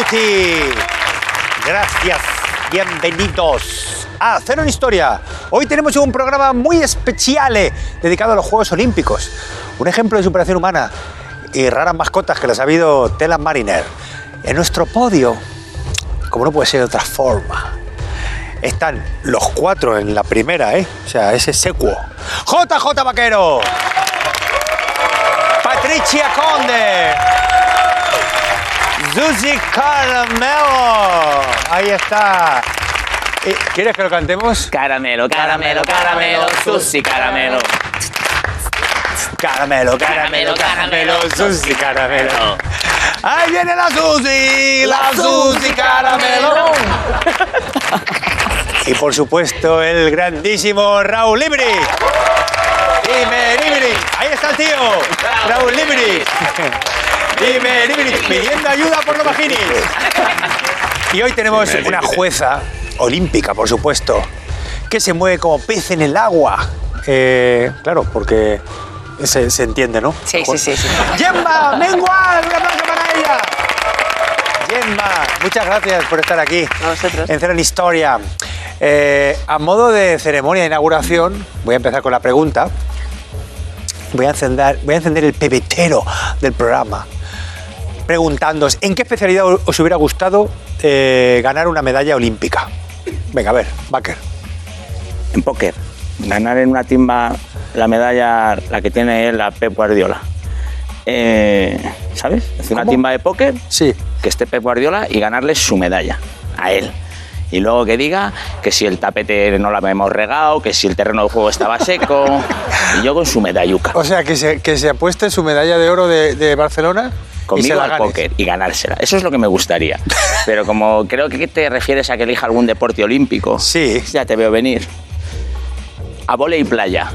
tutti. Gracias. Bienvenidos a Cero en Historia. Hoy tenemos un programa muy especial dedicado a los Juegos Olímpicos. Un ejemplo de superación humana y raras mascotas que las ha habido Telan Mariner. En nuestro podio, como no puede ser de otra forma, están los 4 en la primera, O sea, ese secuo. JJ Vaquero. Patricia Conde. Susi Caramelo. Ahí está. ¿Quieres que lo cantemos? Caramelo, caramelo, caramelo, Susi Caramelo. Caramelo, caramelo, caramelo, Susi Caramelo. Ahí viene la Susi Caramelo. Y por supuesto el grandísimo Raúl Libri. Dime, Libri. Ahí está el tío. Raúl Libri. Dime, Libri. Pidiendo ayuda por los vaginis. Y hoy tenemos una jueza olímpica, por supuesto, que se mueve como pez en el agua. Claro, porque se entiende, ¿no? Sí. Gemma Mengual, un aplauso para ella. Gemma, muchas gracias por estar aquí. A vosotros. En Cero en Historia. A modo de ceremonia de inauguración, voy a empezar con la pregunta. Voy a encender el pebetero del programa, preguntándoos, ¿en qué especialidad os hubiera gustado ganar una medalla olímpica? Venga, a ver, Baker. En póker, ganar en una timba la medalla, la que tiene él, la Pep Guardiola. ¿Sabes? Hacer una timba de póker, Sí. que esté Pep Guardiola y ganarle su medalla a él. Y luego que diga que si el tapete no lo hemos regado, que si el terreno de juego estaba seco, y yo con su medalluca. O sea, que se apueste su medalla de oro de Barcelona y se Conmigo la al ganes. póker y ganársela. Eso es lo que me gustaría. Pero como creo que te refieres a que elija algún deporte olímpico, Sí. ya te veo venir. A vóley y playa.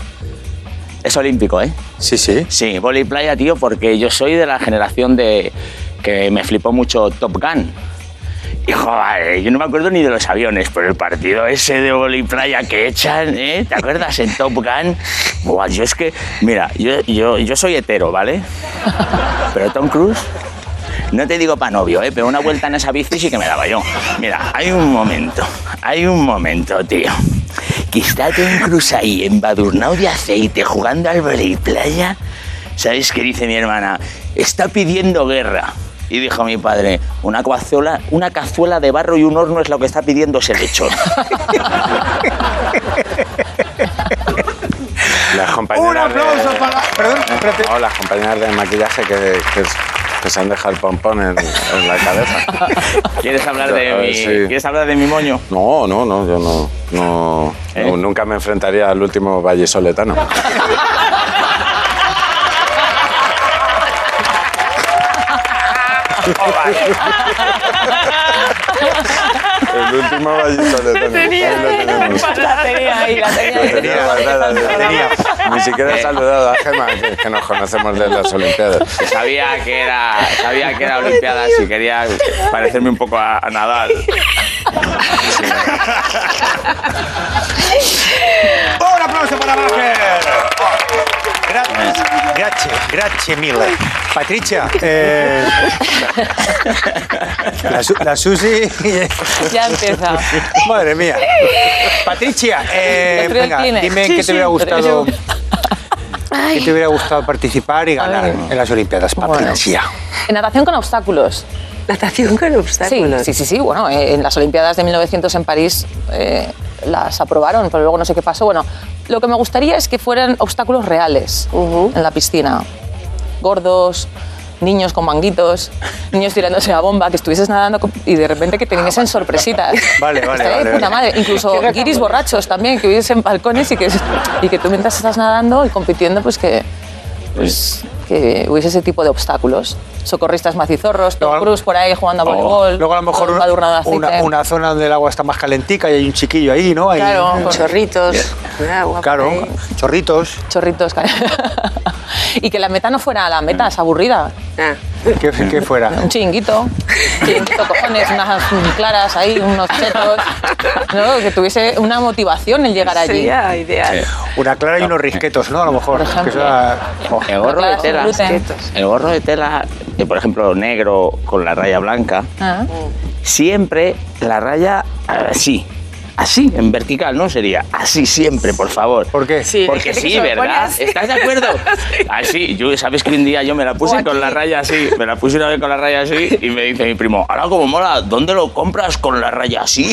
Es olímpico, ¿eh? Sí, sí. Sí, vóley y playa, tío, porque yo soy de la generación de que me flipó mucho Top Gun. Y joder, yo no me acuerdo ni de los aviones, pero el partido ese de vóley y playa que echan, ¿eh? ¿Te acuerdas en Top Gun? Buah, yo es que, mira, yo soy hetero, ¿vale? Pero Tom Cruise, no te digo pa' novio, pero una vuelta en esa bici sí que me daba yo. Mira, hay un momento, tío, que está Tom Cruise ahí embadurnado de aceite jugando al vóley y playa. ¿Sabes qué dice mi hermana? Está pidiendo guerra. Y dijo mi padre, una cazuela de barro y un horno es lo que está pidiendo ese lechón. Las compañeras Un aplauso para... Perdón, espérate. No, las compañeras de maquillaje que se han dejado el pompón en la cabeza. ¿Quieres hablar de mi, Sí. ¿quieres hablar de mi moño? No, yo no, nunca me enfrentaría al último vallisoletano. El último vallisoletano. La tenía ahí, la tenía. La tenía. Ni siquiera he saludado a Gemma, que nos conocemos de las Olimpiadas. Sabía que era Olimpiadas y quería parecerme un poco a Nadal. Un aplauso para Baker. Grazie mille. Patricia, la Susi... Ya empieza. Madre mía. Patricia, Otro venga, Kleenex. dime Sí, qué te sí, hubiera gustado... Ay. ¿Qué te hubiera gustado participar y ganar en las Olimpiadas, Patricia? En natación con obstáculos. Natación con obstáculos. Sí. Bueno, en las Olimpiadas de 1900 en París las aprobaron, pero luego no sé qué pasó. Bueno, lo que me gustaría es que fueran obstáculos reales en la piscina. Gordos, niños con manguitos, niños tirándose a bomba, que estuvieses nadando y de repente que te viniesen sorpresitas. Vale. Estaría de puta madre. Incluso guiris borrachos también, que hubiesen balcones y que tú mientras estás nadando y compitiendo, pues que hubiese ese tipo de obstáculos. Socorristas macizorros, Tom Cruise por ahí jugando a voleibol. Luego a lo mejor una zona donde el agua está más calentica y hay un chiquillo ahí, ¿no? Claro, Con chorritos de agua. Claro, chorritos. Chorritos. Y que la meta no fuera la meta, es aburrida. Ah. ¿Qué fuera? Un chiringuito, cojones, unas claras ahí, unos chetos, ¿no? Que tuviese una motivación el llegar allí. Sería ideal. Una clara y unos risquetos, ¿no? A lo mejor. Por ejemplo. Que sea- oh. El gorro de tela. Gluten. El gorro de tela, por ejemplo, negro con la raya blanca, Ah. siempre la raya así. Así, en vertical, ¿no? Sería así siempre, por favor. ¿Por qué? Sí, Porque hay gente que sí, se lo pone ¿verdad? así. ¿Estás de acuerdo? Así, sabes que un día yo me la puse con la raya así, me la puse una vez con la raya así y me dice mi primo, ahora como mola, ¿dónde lo compras con la raya así?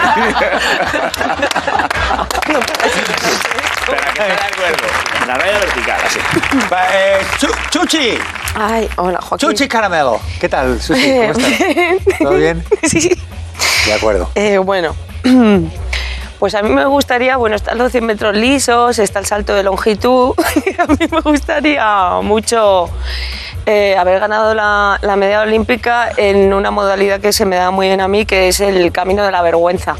Pero que estés de acuerdo, la raya vertical, así. Chuchi. Ay, hola, Joaquín. Chuchi Caramelo. ¿Qué tal, Susi? ¿Cómo estás? ¿Todo bien? Sí. De acuerdo. Bueno, pues a mí me gustaría, bueno, están los 100 metros lisos, está el salto de longitud. A mí me gustaría mucho haber ganado la medalla olímpica en una modalidad que se me da muy bien a mí, que es el camino de la vergüenza.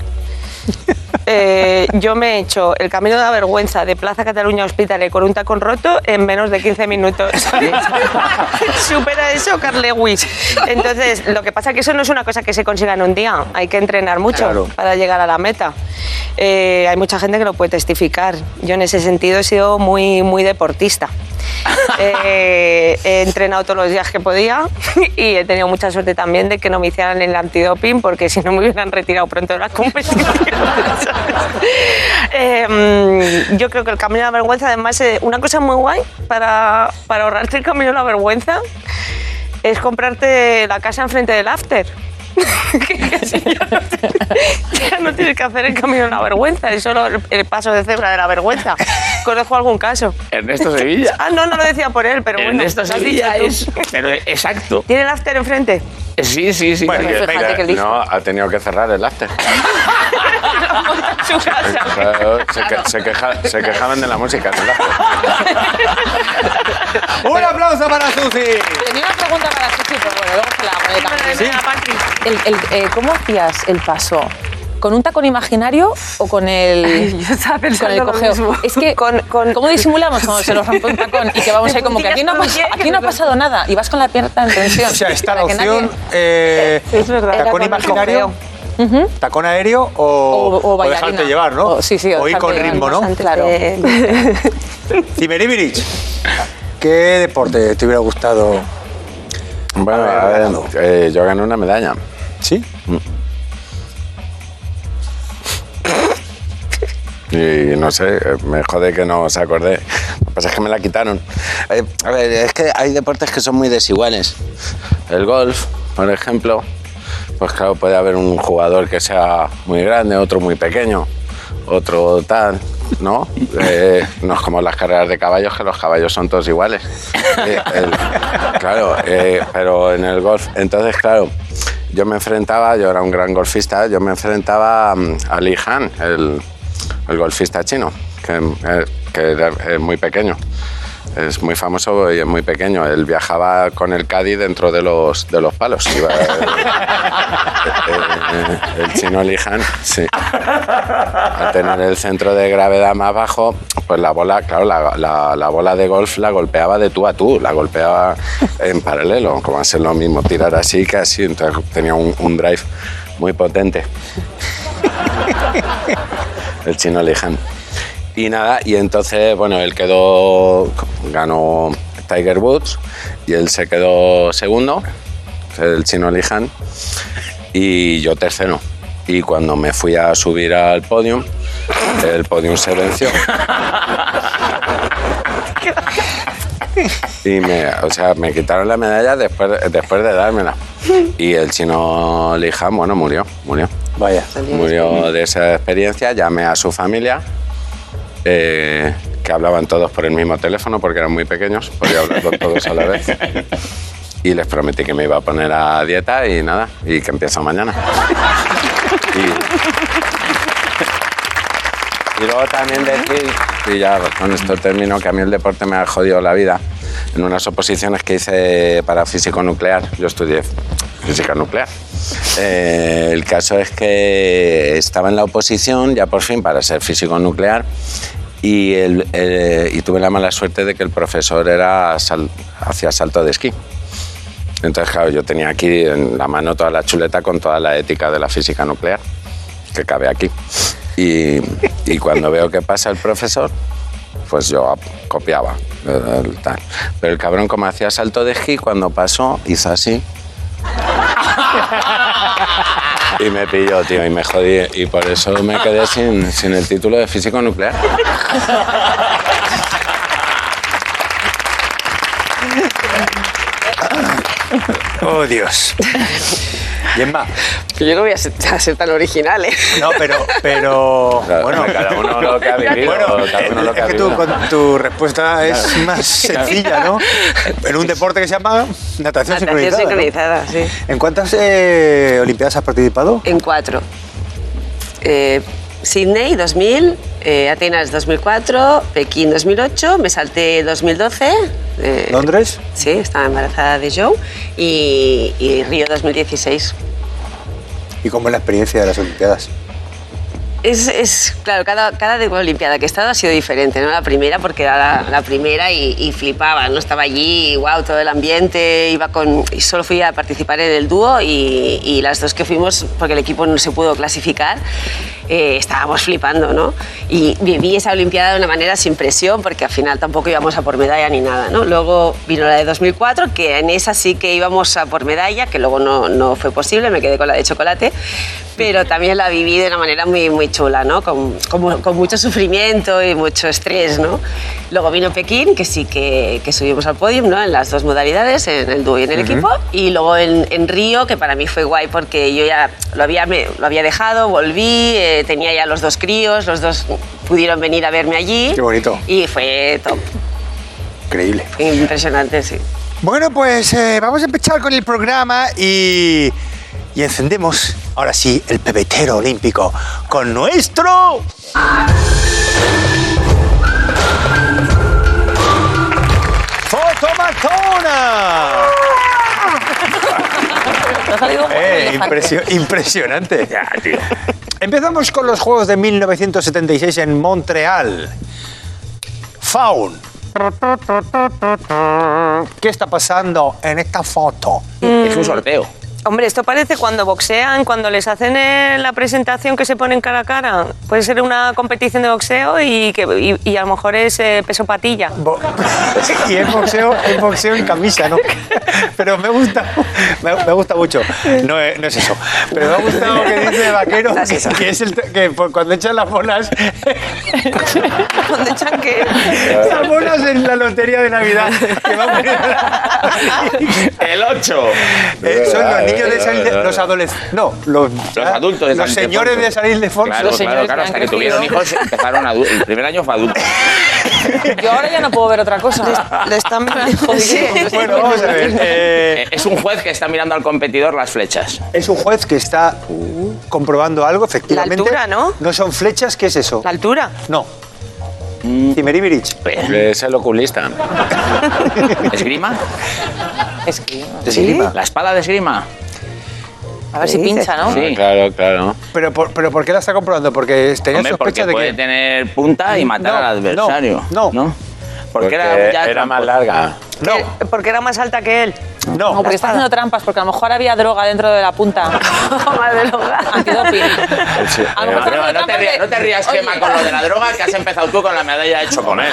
Yo me he hecho el camino de la vergüenza de Plaza Cataluña Hospitalet con un tacón roto en menos de 15 minutos. Supera eso Carl Lewis. Entonces, lo que pasa es que eso no es una cosa que se consiga en un día. Hay que entrenar mucho Claro. para llegar a la meta. Hay mucha gente que lo puede testificar. Yo en ese sentido he sido muy, muy deportista. He entrenado todos los días que podía y he tenido mucha suerte también de que no me hicieran el antidoping, porque si no me hubieran retirado pronto de las competiciones. Yo creo que el camino de la vergüenza, además, una cosa muy guay para ahorrarte el camino de la vergüenza es comprarte la casa enfrente del after. Que así ya no tienes que hacer el camino de la vergüenza, es solo el paso de cebra de la vergüenza. Conozco algún caso. Ernesto Sevilla. Ah, no lo decía por él, pero bueno. Ernesto lo has Sevilla dicho tú. es... Pero exacto. ¿Tiene el after enfrente? Sí. Bueno, porque- Fíjate que listo. No, ha tenido que cerrar el after. Su casa. Claro, se quejaban de la música del after. Un aplauso para Susi. Tenía una pregunta para Susi, pero bueno, luego se la hago de cambio. Venga, Patri. ¿Cómo hacías el paso? ¿Con un tacón imaginario o con el, Ay, yo estaba pensando con el lo cojeo? mismo. Es que, ¿cómo disimulamos cuando se nos rompe un tacón y que vamos ahí como que aquí no ha pasado nada y vas con la pierna en tensión? O sea, está la Para que opción Es verdad. tacón Con el imaginario, tacón aéreo O o bailarina. dejarte llevar, ¿no? O- sí, o ir con dejarte ritmo, ¿no? llevar, claro. Timeribirich, ¿qué deporte te hubiera gustado? Bueno, A ver, yo gané una medalla. ¿Sí? Y no sé, me jode que no os acordé. Lo que pasa es que me la quitaron. A ver, es que hay deportes que son muy desiguales. El golf, por ejemplo, pues claro, puede haber un jugador que sea muy grande, otro muy pequeño, otro tal, ¿no? No es como las carreras de caballos, que los caballos son todos iguales. Claro, pero en el golf, entonces, claro, yo era un gran golfista, yo me enfrentaba a Li Han, el golfista chino, que era muy pequeño. Es muy famoso y es muy pequeño. Él viajaba con el caddy dentro de los palos. Iba el chino Li Han, sí. Al tener el centro de gravedad más bajo, pues la bola, claro, la bola de golf la golpeaba de tú a tú, la golpeaba en paralelo, como hacer lo mismo, tirar así que así. Entonces tenía un drive muy potente. El chino Li Han. Y nada, y entonces, bueno, él ganó Tiger Woods y él se quedó segundo, el chino Li Han, y yo tercero. Y cuando me fui a subir al podium, el podium se venció. Y me quitaron la medalla después de dármela. Y el chino Li Han, bueno, murió. Vaya. Murió de esa experiencia, llamé a su familia, que hablaban todos por el mismo teléfono porque eran muy pequeños, podía hablar con todos a la vez. Y les prometí que me iba a poner a dieta y nada, y que empiezo mañana. Y luego también decir, y ya con esto termino, que a mí el deporte me ha jodido la vida. En unas oposiciones que hice para físico nuclear, yo estudié física nuclear. El caso es que estaba en la oposición, ya por fin, para ser físico nuclear, y tuve la mala suerte de que el profesor hacía salto de esquí. Entonces, claro, yo tenía aquí en la mano toda la chuleta con toda la ética de la física nuclear, que cabe aquí. Y cuando veo que pasa el profesor, pues yo copiaba. Tal. Pero el cabrón, como hacía salto de esquí, cuando pasó, hizo así. Y me pilló, tío, y me jodí. Y por eso me quedé sin el título de físico nuclear. Oh, Dios. Gemma. Yo no voy a ser tan original, ¿eh? No, pero Claro, bueno, cada uno lo que ha vivido. bueno, cada uno lo que ha es que tú, vivido. con tu respuesta es más sencilla, ¿no? En un deporte que se llama natación Natación sincronizada, ¿no? sincronizada, sí. ¿En cuántas Olimpiadas has participado? En 4. Sydney 2000, Atenas 2004, Pekín 2008, me salté 2012. ¿Londres? Sí, estaba embarazada de Joe. Y Río 2016. ¿Y cómo es la experiencia de las Olimpiadas? Claro, cada Olimpiada que he estado ha sido diferente, ¿no? La primera, porque era la primera y flipaba, ¿no? Estaba allí, wow, todo el ambiente, y solo fui a participar en el dúo y las dos que fuimos, porque el equipo no se pudo clasificar, estábamos flipando, ¿no? Y viví esa Olimpiada de una manera sin presión, porque al final tampoco íbamos a por medalla ni nada, ¿no? Luego vino la de 2004, que en esa sí que íbamos a por medalla, que luego no fue posible, me quedé con la de chocolate, pero también la viví de una manera muy, muy chula, ¿no? Con mucho sufrimiento y mucho estrés, ¿no? Luego vino Pekín, que sí que subimos al podio, ¿no? En las dos modalidades, en el dúo y en el equipo. Y luego en Río, que para mí fue guay porque yo ya lo había dejado, volví, tenía ya los dos críos, los dos pudieron venir a verme allí. Qué bonito. Y fue top. Increíble. Impresionante, sí. Bueno, pues vamos a empezar con el programa y encendemos, ahora sí, el pebetero olímpico con nuestro... ¡Fotomatona! Te ha salido un elefante. Impresionante. Ya, tío. Empezamos con los Juegos de 1976 en Montreal. Faun. ¿Qué está pasando en esta foto? Es un sorteo. Hombre, esto parece cuando boxean, cuando les hacen la presentación que se ponen cara a cara. Puede ser una competición de boxeo y a lo mejor es peso patilla. Y es boxeo en camisa, ¿no? Pero me gusta mucho. No es eso. Pero me ha gustado que dice Vaquero, que es que cuando echan las bolas... ¿Dónde echan qué? Las bolas en la lotería de Navidad. Que va a poner El 8. son los niños de San Ildefonso, los adolescentes. No, los adultos de San Los señores Ildefonso. de San Ildefonso. Claro, Los señores claro, que hasta han que tuvieron crecido. hijos empezaron adultos. El primer año fue adulto. Yo ahora ya no puedo ver otra cosa. Le están Jodido. Bueno, vamos a ver. Es un juez que está mirando al competidor las flechas. Es un juez que está comprobando algo, efectivamente. La altura, ¿no? No son flechas, ¿qué es eso? La altura. No. Cimeribirich. Es el oculista. ¿Esgrima? Es que, Esgrima. ¿La espada de esgrima? a ver si pincha, ¿no? Sí. Claro, claro. Pero ¿por qué la está comprobando? Porque tenía Hombre, porque sospecha de puede que... tener punta y matar No, al adversario. no. Porque era, ya era más tramposo. larga. No, Porque era más alta que él. No, porque está haciendo trampas, porque a lo mejor había droga dentro de la punta. Antidoping. A lo mejor No, no te rías, Oye. Gemma, con lo de la droga, que has empezado tú con la medalla de chocolate.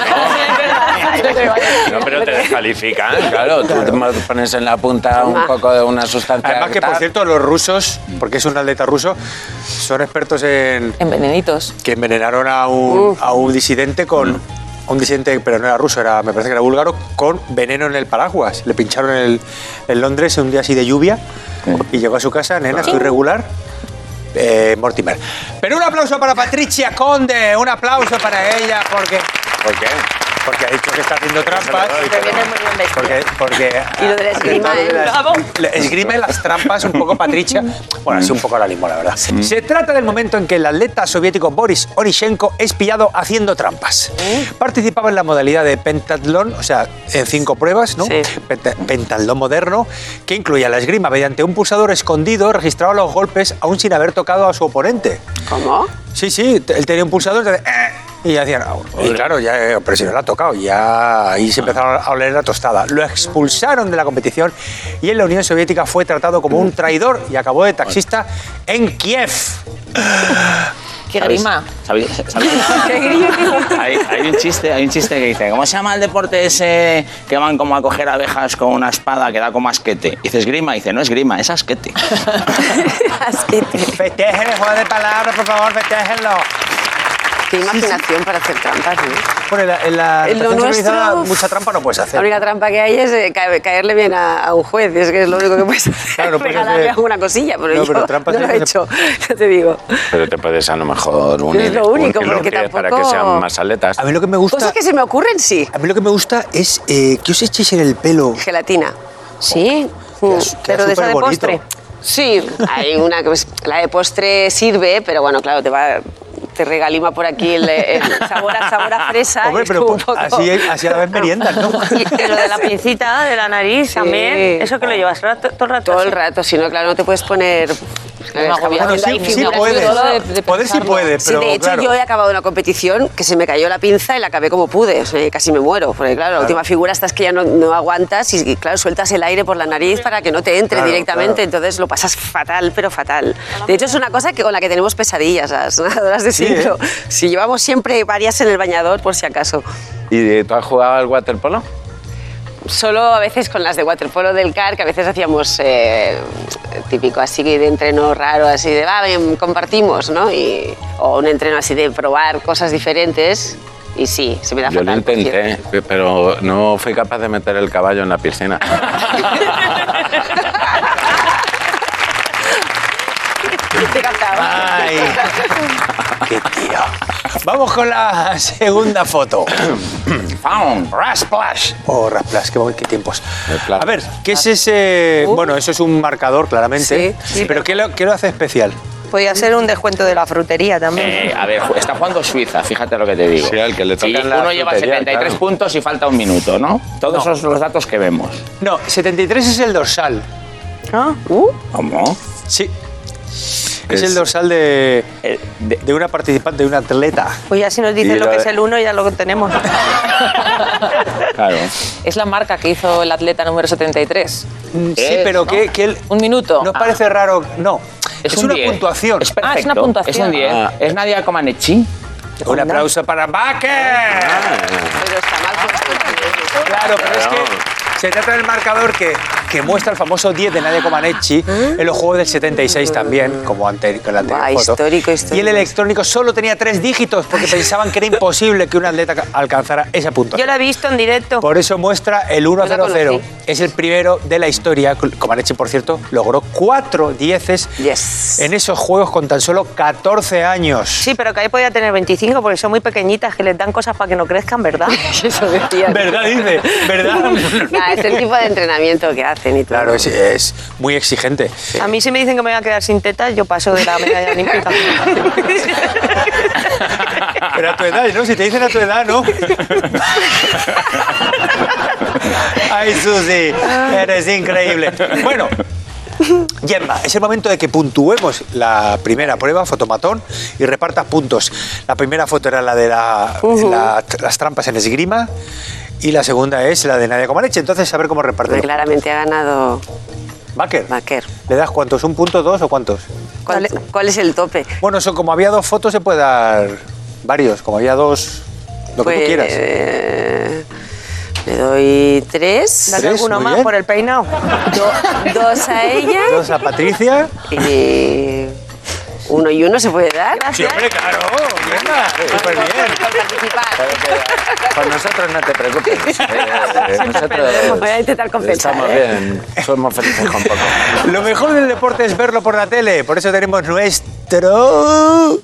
No, pero te descalifican. Claro, tú te pones en la punta un poco de una sustancia. además que, por cierto, los rusos, porque es un atleta ruso, son expertos en... En venenitos. que envenenaron a un disidente con... Un disidente, pero no era ruso, me parece que era búlgaro, con veneno en el paraguas. Le pincharon en Londres un día así de lluvia y llegó a su casa, nena, estoy regular, Mortimer. Pero un aplauso para Patricia Conde, un aplauso para ella, porque ¿Por qué? ha dicho que está haciendo trampas. Porque Y lo de la esgrima, esgrime las trampas un poco, Patricia. Bueno, así un poco ahora mismo, la verdad. Se trata del momento en que el atleta soviético Boris Onishenko es pillado haciendo trampas. Participaba en la modalidad de pentatlón, o sea, en 5 pruebas, ¿no? Sí. Pentatlón moderno, que incluía la esgrima. Mediante un pulsador escondido registraba los golpes aún sin haber tocado a su oponente. ¿Cómo? Sí, él tenía un pulsador de... Y ya decían, y claro, ya, pero si no la ha tocado, ya ahí se empezaron a oler la tostada. Lo expulsaron de la competición y en la Unión Soviética fue tratado como un traidor y acabó de taxista en Kiev. ¡Qué grima! ¿Sabéis? Hay un chiste que dice, ¿cómo se llama el deporte ese que van como a coger abejas con una espada que da como asquete? Dices grima, dice, no es grima, es asquete. Asquete. Festejen el juego de palabras, por favor, festéjenlo. Qué imaginación para hacer trampas, ¿no? Bueno, en la En lo natación sincronizada nuestro, mucha trampa no puedes La hacer. única trampa que hay es caerle bien a un juez, es que es lo único que puedes hacer. Claro, no puedes regalarle hacer- alguna cosilla, pero No, yo pero trampas no lo he no se- hecho, ya te digo. Pero te puedes a lo mejor unir lo único, un porque pies para que tampoco- sean más atletas. A mí lo que me gusta, Cosas que se me ocurren, sí. a mí lo que me gusta es que os echéis en el pelo. Gelatina. Sí, Queda pero de esa de superbonito. postre. Sí, hay una que la de postre sirve, pero bueno, claro, te regalima por aquí el sabor a fresa. y Hombre, es pero como un poco- así a la vez meriendas, ¿no? Y lo de la pincita de la nariz Sí. también, eso que lo llevas todo el rato. Todo el así. rato, si no, claro, no te puedes poner... agobio. Estamos Bueno, haciendo ahí sí figuras. puede. de Poder sí pensarlo. puede, Sí, pero de hecho claro. yo he acabado una competición que se me cayó la pinza y la acabé como pude, o sea, casi me muero, porque claro, la última figura estás que ya no aguantas y claro, sueltas el aire por la nariz para que no te entre Claro, directamente, claro. entonces lo pasas fatal, pero fatal. De hecho es una cosa con la que tenemos pesadillas las nadadoras de Sí, ¿eh? sincro. Si llevamos siempre varias en el bañador por si acaso. ¿Y tú has jugado al waterpolo? Solo a veces con las de waterpolo del CAR, que a veces hacíamos típico así de entreno raro, así de, va, ven, compartimos, ¿no? O un entreno así de probar cosas diferentes. Y sí, se me da Yo lo fatal. por cierto. intenté, pero no fui capaz de meter el caballo en la piscina. Te captaba. Ay, qué tío. Vamos con la segunda foto. ¡Pam! Rasplash. Oh, Rasplash, qué tiempos. El plato. A ver, ¿qué es ese...? Bueno, eso es un marcador, claramente. Sí, Pero ¿qué lo hace especial? Podría ser un descuento de la frutería también. A ver, está jugando Suiza, fíjate lo que te digo. Sí, al que le toca Y en la uno lleva frutería, 73 claro. puntos y falta un minuto, ¿no? Todos esos son los datos que vemos. No, 73 es el dorsal. ¿Ah? ¿Cómo? Sí. Es el dorsal de una participante, de una atleta. Pues ya si nos Y dicen lo lo que de- es el 1 ya lo tenemos. Claro. Es la marca que hizo el atleta número 73. Sí, pero ¿no? que él... Un minuto. ¿No os parece raro? No. Es un una 10. puntuación. Es perfecto. es una puntuación. Es un 10. Ah. Es Nadia Comaneci. Un aplauso para Baker. Pero está mal puesto. Claro, pero es que se trata del marcador que muestra el famoso 10 de Nadia Comaneci en los Juegos del 76 también, como con la anterior Buah, foto. histórico. Y el electrónico solo tenía 3 dígitos porque pensaban que era imposible que un atleta alcanzara esa Yo puntuación. lo he visto en directo. Por eso muestra el Yo la 1-0-0. conocí. Es el primero de la historia. Comaneci, por cierto, logró 4 dieces Yes. en esos Juegos con tan solo 14 años. Sí, pero que ahí podía tener 25 porque son muy pequeñitas que les dan cosas para que no crezcan, ¿verdad? Eso decía. ¿Verdad, dice? ¿Verdad? Nah, es el tipo de entrenamiento que hacen y todo. Claro, es muy exigente. A mí si me dicen que me voy a quedar sin tetas, yo paso de la medalla olímpica. Pero a tu edad, ¿no? Si te dicen a tu edad, ¿no? Ay, Susi, eres increíble. Bueno, Gemma, es el momento de que puntuemos la primera prueba, fotomatón, y repartas puntos. La primera foto era la de las trampas en esgrima y la segunda es la de Nadia Comaneci. Entonces, a ver cómo Porque reparten. claramente ha ganado Baker, Baker. ¿le das cuántos? ¿Un punto, dos o cuántos? ¿Cuál es el tope? Bueno, eso, como había 2 fotos, se puede dar varios. Como había 2, lo que tú quieras. Le doy 3. Dale 3, alguno muy más bien. por el peinado. 2 a ella. 2 a Patricia. Y 1 y 1 se puede dar. Sí, hombre, claro. Gemma, súper bien. Por participar. Por nosotros no te preocupes. Nosotros Voy a intentar compensar. estamos bien, somos felices con poco. Lo mejor del deporte es verlo por la tele. Por eso tenemos nuestro...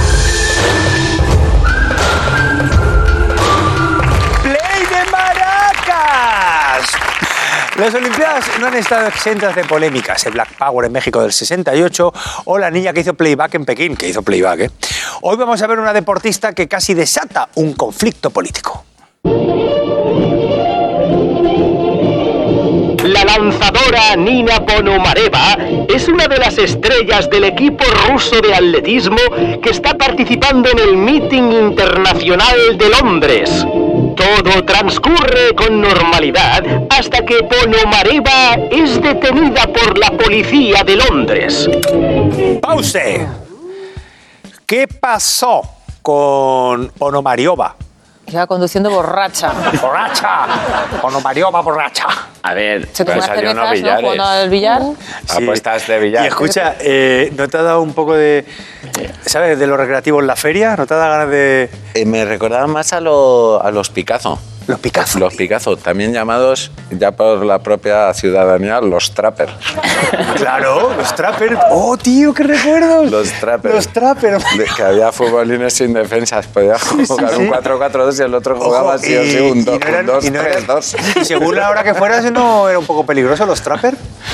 ¡Play de maracas! Las Olimpiadas no han estado exentas de polémicas. El Black Power en México del 68 o la niña que hizo playback en Pekín, que hizo playback, ¿eh? Hoy vamos a ver una deportista que casi desata un conflicto político. La lanzadora Nina Ponomareva es una de las estrellas del equipo ruso de atletismo que está participando en el Meeting Internacional de Londres. Todo transcurre con normalidad hasta que Ponomareva es detenida por la policía de Londres. ¡Pause! ¿Qué pasó con Ponomariova? Iba conduciendo borracha. ¡Borracha! Ponomariova borracha. A ver, Se tomó Pues unas salió unos cervezas, ¿no? billares. Jugando al billar. Apuestas de billar. Y escucha, ¿no te ha dado un poco de, ¿sabes?, de los recreativos en la feria? ¿No te ha dado ganas de...? Me recordaba más a los Picazo. Los Picazo. Los Picazo, también llamados ya por la propia ciudadanía los Trapper. Claro, los Trapper. ¡Oh, tío, qué recuerdos! Los Trapper. Los Trapper. Que había futbolines sin defensas. Podía jugar sí. un 4-4-2 y el otro jugaba Ojo, así o sí, un 2-3-2. Y según la hora que fueras, ¿no era un poco peligroso los Trapper?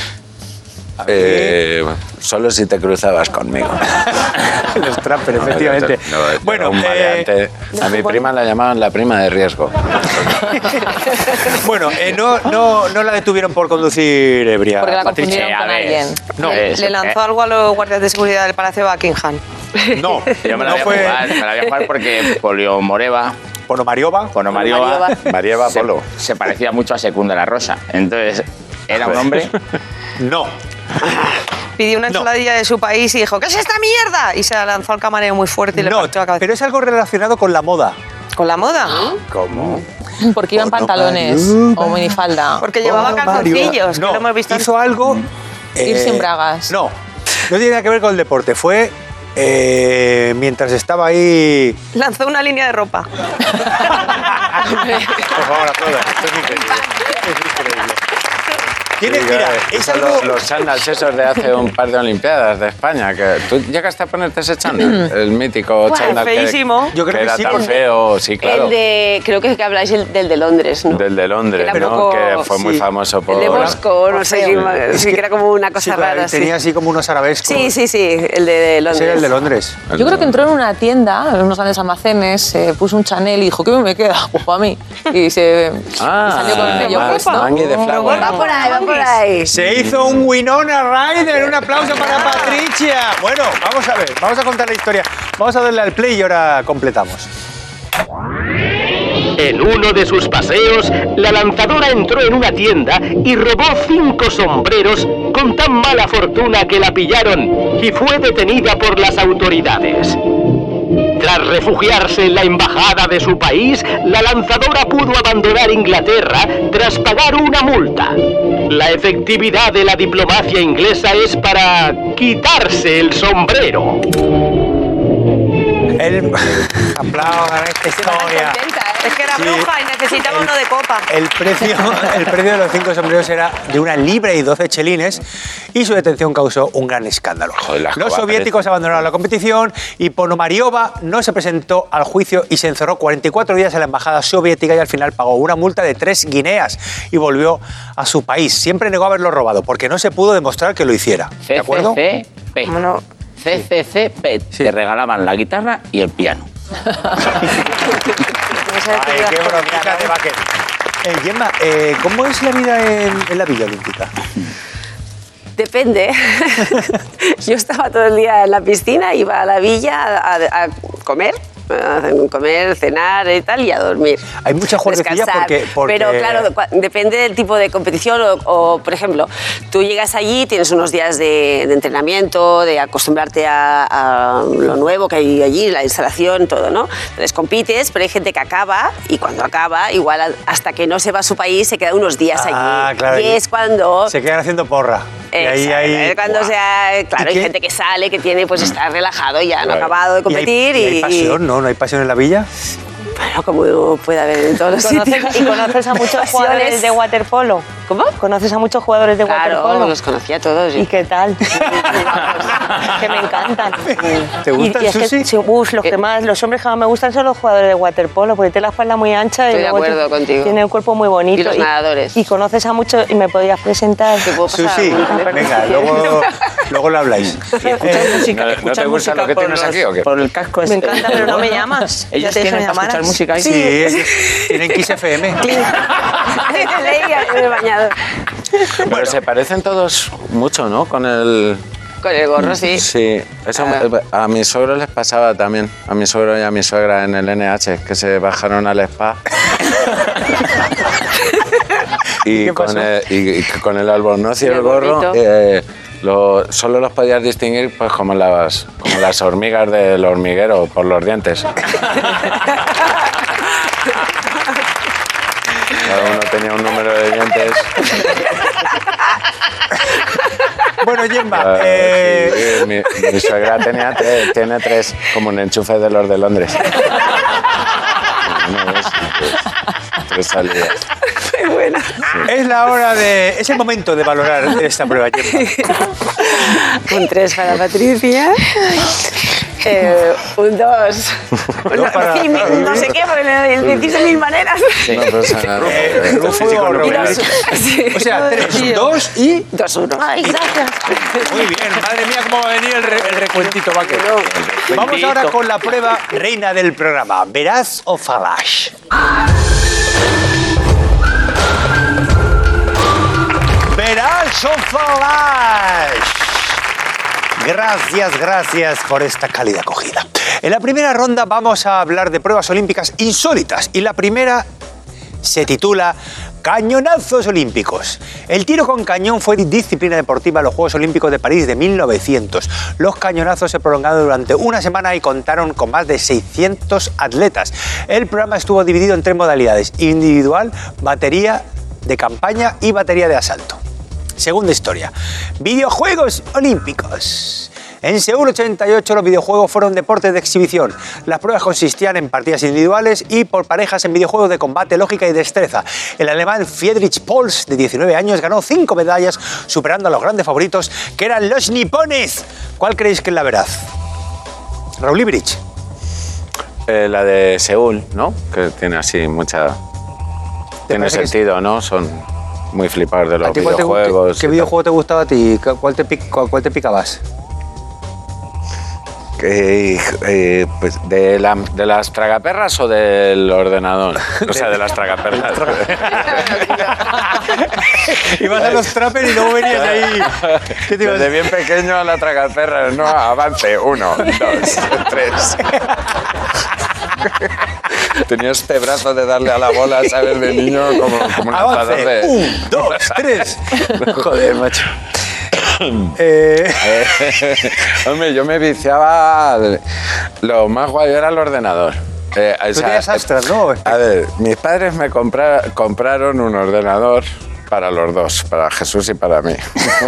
Solo si te cruzabas conmigo. Los Trapper, efectivamente. Bueno, un maleante. A mi prima la llamaban la prima de riesgo. Bueno, no la detuvieron por conducir ebria. Porque la Patricia. confundieron con a ver. alguien. No, Le lanzó algo a los guardias de seguridad del Palacio de Buckingham. no, yo me la no voy a fue jugar, me la voy a jujar porque Ponomariova Ponomariova. Marieva Polo. se parecía mucho a Secunda la Rosa. Entonces, era un hombre. No. Pidió una ensaladilla de su país y dijo, ¿qué es esta mierda? Y se la lanzó al camarero muy fuerte y le No, partió la cabeza. pero es algo relacionado con la moda. ¿Con la moda? ¿Cómo? Porque iban pantalones o minifalda. Porque llevaba calzoncillos, que No, lo hemos visto. hizo algo... Ir sin bragas. No tiene nada que ver con el deporte. Fue mientras estaba ahí... Lanzó una línea de ropa. Por favor, aplaudan. Esto es increíble. Es increíble. Mira, es Son algo... los chándals esos de hace un par de Olimpiadas de España. Que ¿tú llegaste a ponerte ese chándal? El mítico Buah, chándal feísimo. Yo creo que que era sí, tan porque- feo. Sí, claro. El de, creo que habláis del de Londres, ¿no? Del de Londres, Que era ¿no? poco- Que fue muy sí. famoso por... El de Moscú, no sé qué, sí, que era como una Sí, cosa pero rara. tenía así como unos arabescos. Sí, el de Londres. Ese era el de Londres. Yo creo que entró en una tienda, en unos grandes almacenes, se puso un Chanel y dijo, ¿qué me queda? Pues para mí. Y salió con el pello puesto. Mangue de Flower. Va por ahí. Se hizo un Winona Ryder. Un aplauso para Patricia. Bueno, vamos a ver. Vamos a contar la historia. Vamos a darle al play y ahora completamos. En uno de sus paseos, la lanzadora entró en una tienda y robó 5 sombreros con tan mala fortuna que la pillaron y fue detenida por las autoridades. Tras refugiarse en la embajada de su país, la lanzadora pudo abandonar Inglaterra tras pagar una multa. La efectividad de la diplomacia inglesa es para quitarse el sombrero. Aplaudan esta historia. Es que era Sí. bruja y necesitaba uno de copa. El precio de los 5 sombreros era de 1 libra y 12 chelines y su detención causó un gran escándalo. Joder, la Los escoba soviéticos abandonaron la competición y Ponomariova no se presentó al juicio y se encerró 44 días en la embajada soviética y al final pagó una multa de 3 guineas y volvió a su país. Siempre negó haberlo robado porque no se pudo demostrar que lo hiciera. ¿De acuerdo? CCCP. Bueno, CCCP. Sí. Te regalaban la guitarra y el piano. Ay, qué bromita de vaquero. Gemma, ¿cómo es la vida en la Villa Olímpica? Depende. Yo estaba todo el día en la piscina, iba a la villa a comer, cenar y tal, y a dormir. Hay mucha juerguecilla Descansar. porque... Pero claro, depende del tipo de competición o, por ejemplo, tú llegas allí, tienes unos días de entrenamiento, de acostumbrarte a lo nuevo que hay allí, la instalación, todo, ¿no? Entonces compites, pero hay gente que acaba y cuando acaba, igual hasta que no se va a su país, se queda unos días allí. Claro, y es cuando... se quedan haciendo porra. Y ahí, Es cuando ¡buah! claro, ¿Y hay qué? gente que sale, que tiene, pues está relajado ya, no ha Claro. acabado de competir y hay pasión, ¿no? ¿No hay pasión en la villa? Bueno, como puede haber en todos los sitios. ¿Y conoces a muchos jugadores de waterpolo? ¿Cómo? ¿Conoces a muchos jugadores de Claro, waterpolo? los conocía a todos. ¿Y qué tal? Que me encantan. ¿Te gusta y el es que, sushi? sí, los hombres que más me gustan son los jugadores de waterpolo, porque tiene la espalda muy ancha Estoy y de luego acuerdo contigo. tiene un cuerpo muy bonito. Y los nadadores. Y conoces a muchos, y me podrías presentar. Te puedo pasar Sushi, algún- venga, luego lo habláis. ¿No te gusta lo que tienes aquí o qué? Por el casco Me encanta, pero no me llamas. Ya Ellos te dije tienen que me para escuchar llamaras. música ahí. Sí, tienen Kiss FM. Leía en el bañador. Pero se parecen todos mucho, ¿no? Con el gorro, sí. Sí, eso a mis suegros les pasaba también. A mi suegro y a mi suegra en el NH, que se bajaron al spa. Y con el albornoz y el gorro solo los podías distinguir pues como las hormigas del hormiguero por los dientes. Cada uno tenía un número de dientes. Bueno, Gemma, sí, mi suegra tiene 3, como un enchufe de los de Londres. 3 salidas. Qué buena. Es el momento de valorar esta prueba, Gemma. Un 3 para Patricia. Un 2. No sé qué, porque le decís de 1000 maneras. Sí. No pasa nada. O sea, 3, 2 y... 2, 1. Ay, gracias. Muy bien, madre mía, cómo va a venir el recuentito vaquero. Vamos ahora con la prueba reina del programa. ¿Veraz o falash? ¿Veraz o falash? Gracias por esta cálida acogida. En la primera ronda vamos a hablar de pruebas olímpicas insólitas y la primera se titula Cañonazos Olímpicos. El tiro con cañón fue disciplina deportiva en los Juegos Olímpicos de París de 1900. Los cañonazos se prolongaron durante una semana y contaron con más de 600 atletas. El programa estuvo dividido en 3 modalidades: individual, batería de campaña y batería de asalto. Segunda historia. Videojuegos Olímpicos. En Seúl 88 los videojuegos fueron deportes de exhibición. Las pruebas consistían en partidas individuales y por parejas en videojuegos de combate, lógica y destreza. El alemán Friedrich Pols, de 19 años, ganó 5 medallas, superando a los grandes favoritos, que eran los nipones. ¿Cuál creéis que es la veraz? Raúl Ibrich. La de Seúl, ¿no? Que tiene así mucha... Tiene sentido, ¿no? Son muy flipados de los videojuegos. ¿Qué videojuego te gustaba a ti? ¿Cuál te picabas? Pues de las tragaperras o del ordenador. O sea, de las tragaperras. Ibas a los trappers y luego venías ahí. ¿Qué te ibas? Desde bien pequeño a la tragaperra, no, avance, 1, 2, 3. Tenía este brazo de darle a la bola, ¿sabes? De niño, como un lanzador de... 1, 2, 3. Joder, macho. Hombre, yo me viciaba... Lo más guay era el ordenador. Tú tenías Astras, ¿no? A ver, mis padres me compraron un ordenador para los dos, para Jesús y para mí.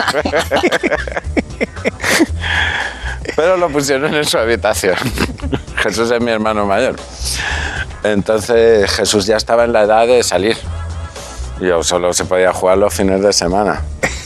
Pero lo pusieron en su habitación. Jesús es mi hermano mayor. Entonces Jesús ya estaba en la edad de salir. Yo solo se podía jugar los fines de semana.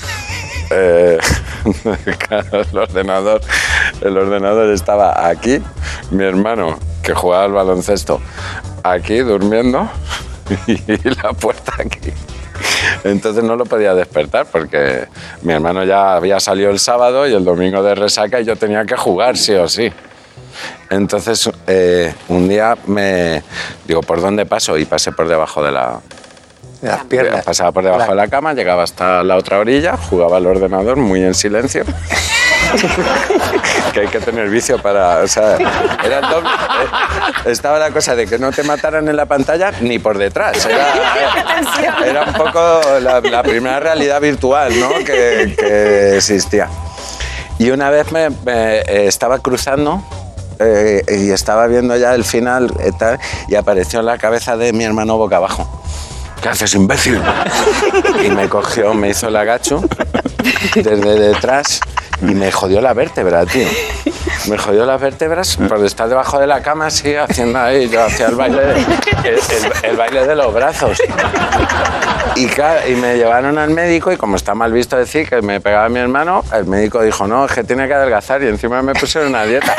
Claro, el ordenador estaba aquí, mi hermano, que jugaba al baloncesto, aquí durmiendo y la puerta aquí. Entonces no lo podía despertar porque mi hermano ya había salido el sábado y el domingo de resaca y yo tenía que jugar sí o sí. Entonces un día me digo, ¿por dónde paso? Y pasé por debajo de las piernas. Pasaba por debajo de la cama, llegaba hasta la otra orilla, jugaba al ordenador muy en silencio. Que hay que tener vicio para... O sea, era el doble, estaba la cosa de que no te mataran en la pantalla ni por detrás. Era un poco la primera realidad virtual, ¿no? que existía. Y una vez me estaba cruzando y estaba viendo ya el final y apareció en la cabeza de mi hermano boca abajo. ¿Qué haces, imbécil? Y me cogió, me hizo el agacho desde detrás y me jodió la vértebra, tío. Me jodió las vértebras por estar debajo de la cama así, haciendo ahí, yo hacía el baile de los brazos. Y me llevaron al médico y como está mal visto decir que me pegaba mi hermano, el médico dijo, no, es que tiene que adelgazar y encima me pusieron una dieta.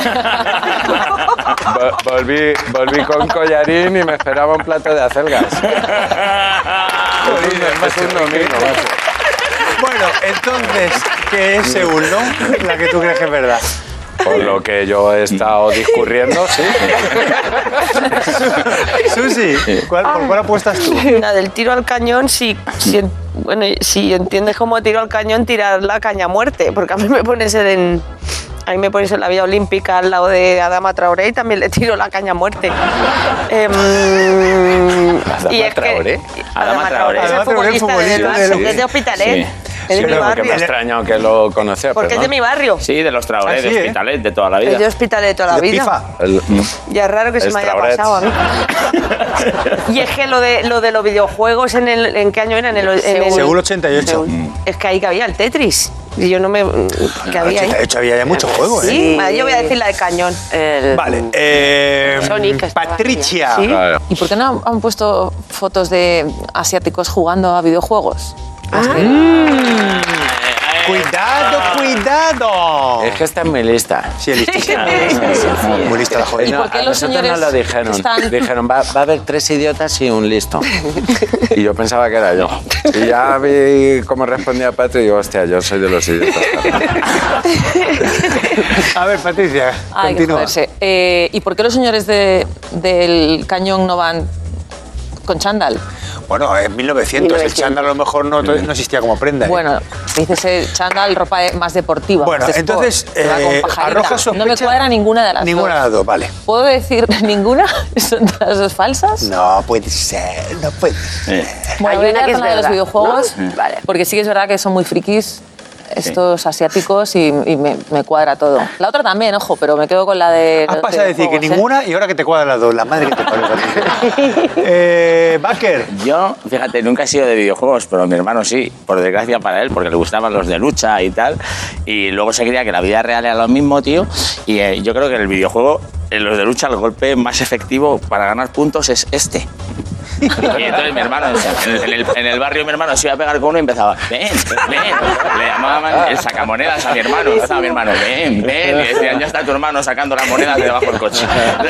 Volví con collarín y me esperaba un plato de acelgas. Es un domingo, macho. Bueno, entonces, ¿qué es Seúl, no? La que tú crees que es verdad. Por lo que yo he estado discurriendo, sí. Susi, ¿por cuál apuestas tú? La del tiro al cañón, sí, Bueno, si entiendes cómo tiro al cañón, tirar la caña a muerte, porque a mí me pones en la vía olímpica al lado de Adama Traoré y también le tiro la caña a muerte. ¿Adama Traoré? Adama Traoré es el futbolista del Barça, que es de Hospitalet. Sí. Es de mi Porque barrio. me ha extrañado que lo conocía. Porque es de mi barrio. Sí, de los Traoré, Ah, sí, de Hospitalet, de toda la vida. Es de Hospitalet de toda la De vida. FIFA. Ya es raro que se me haya Traorets. pasado a mí. Y es que lo de los videojuegos, ¿en qué año era? En el Según 88. Es que ahí cabía el Tetris. Y yo no me... que había ahí. 88 había ya muchos juegos, ¿eh? Sí, vale, yo voy a decir la de cañón. Vale. Sonic estaba Patricia. Sí. Claro. ¿Y por qué no han puesto fotos de asiáticos jugando a videojuegos? Cuidado. Es que está en mi lista. Sí, listísima. Muy lista la joven. ¿Y por qué a los nosotros señores no lo dijeron. están- Dijeron, va a haber 3 idiotas y un listo. Y yo pensaba que era yo. Y ya vi cómo respondía Patri y digo, hostia, yo soy de los idiotas. A ver, Patricia, Hay que continúa. joderse. ¿Y por qué los señores del cañón no van con chándal? Bueno, en 1900. El chándal a lo mejor no existía como prenda. ¿eh? Bueno, dices chándal, ropa más deportiva. Bueno, más de sport, entonces, que va con pajarita. arroja No me sospecha- cuadra ninguna de las Ninguna de dos. las dos, vale. ¿Puedo decir ninguna? ¿Son las dos falsas? No puede ser, no puede ser. Bueno, Hay voy a una quedar que con es la de los verdad, videojuegos, ¿no? Vale. porque sí que es verdad que son muy frikis estos asiáticos y me cuadra todo. La otra también, ojo, pero me quedo con la de Has los pasado a decir que videojuegos, ¿eh? ninguna y ahora que te cuadran las dos. La madre que te parió, Patricia. Baker. Yo, fíjate, nunca he sido de videojuegos, pero mi hermano sí, por desgracia para él, porque le gustaban los de lucha y tal. Y luego se creía que la vida real era lo mismo, tío. Y yo creo que en el videojuego, en los de lucha, el golpe más efectivo para ganar puntos es este. Y entonces mi hermano, en el barrio mi hermano se iba a pegar con uno y empezaba, ven, le llamaban el sacamonedas a mi hermano, ven, y decían, ya está tu hermano sacando las monedas de debajo del coche.